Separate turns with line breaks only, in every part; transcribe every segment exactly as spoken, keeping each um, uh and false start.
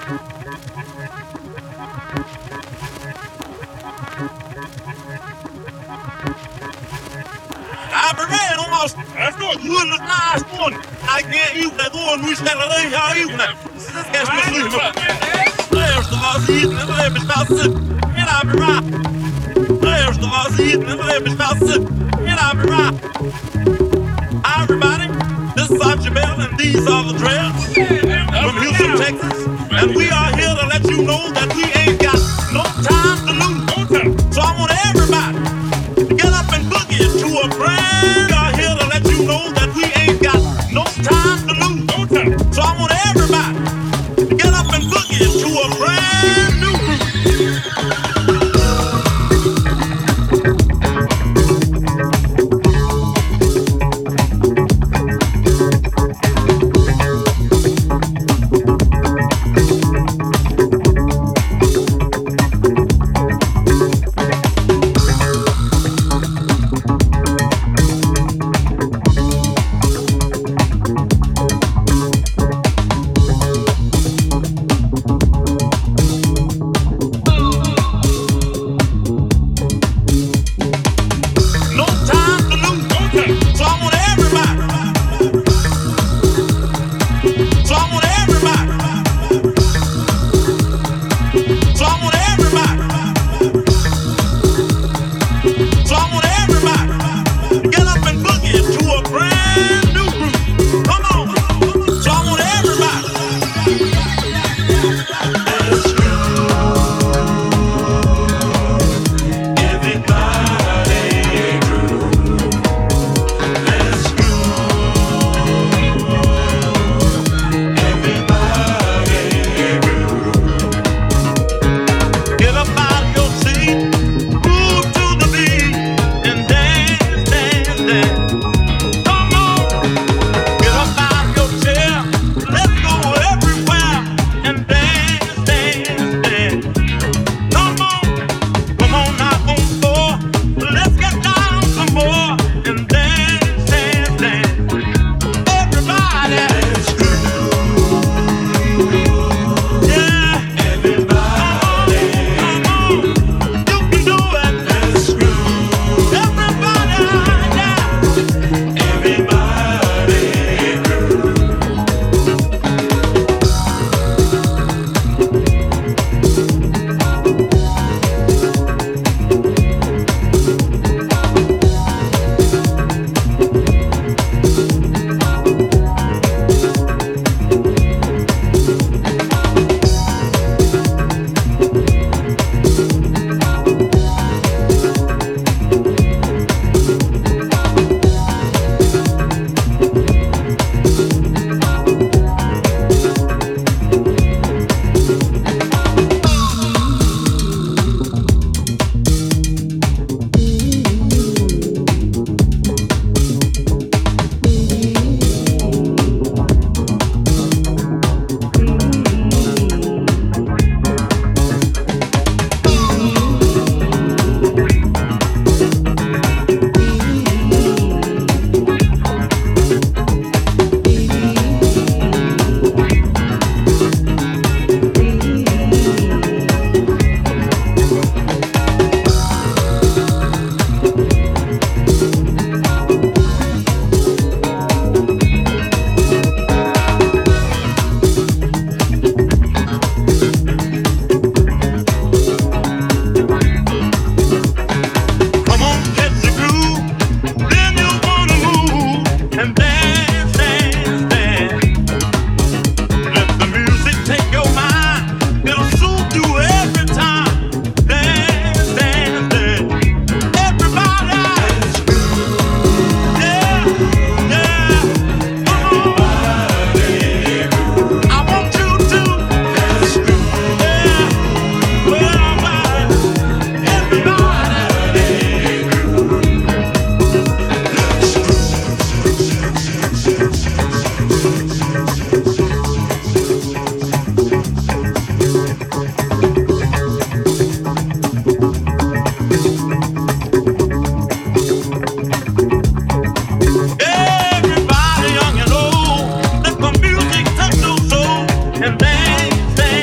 I prepared almost. That's good. You was nice one. I can't use that one we said I ain't how you now. That's my sleep. There's the boss eating and let me stop sipping. And I'll be right. There's the boss eating and let me stop sipping. And I'll be right. Everybody, this is Archie Bell and these are the Dreads from Houston, Texas. And we are here to let you know that we ain't got no time to lose. So I want everybody to get up and boogie to a brand. We are here to let you know that we ain't got no time to lose. So I want everybody to get up and boogie to a brand new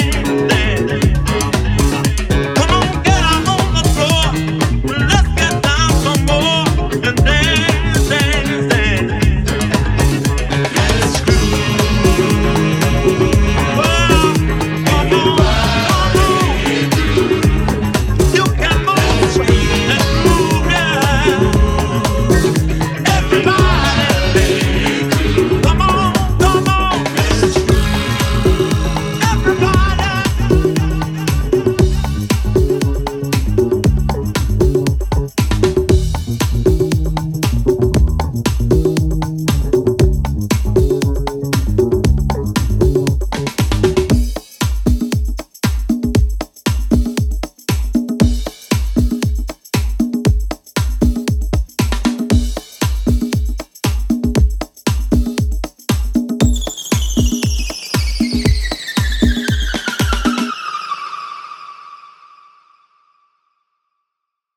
man.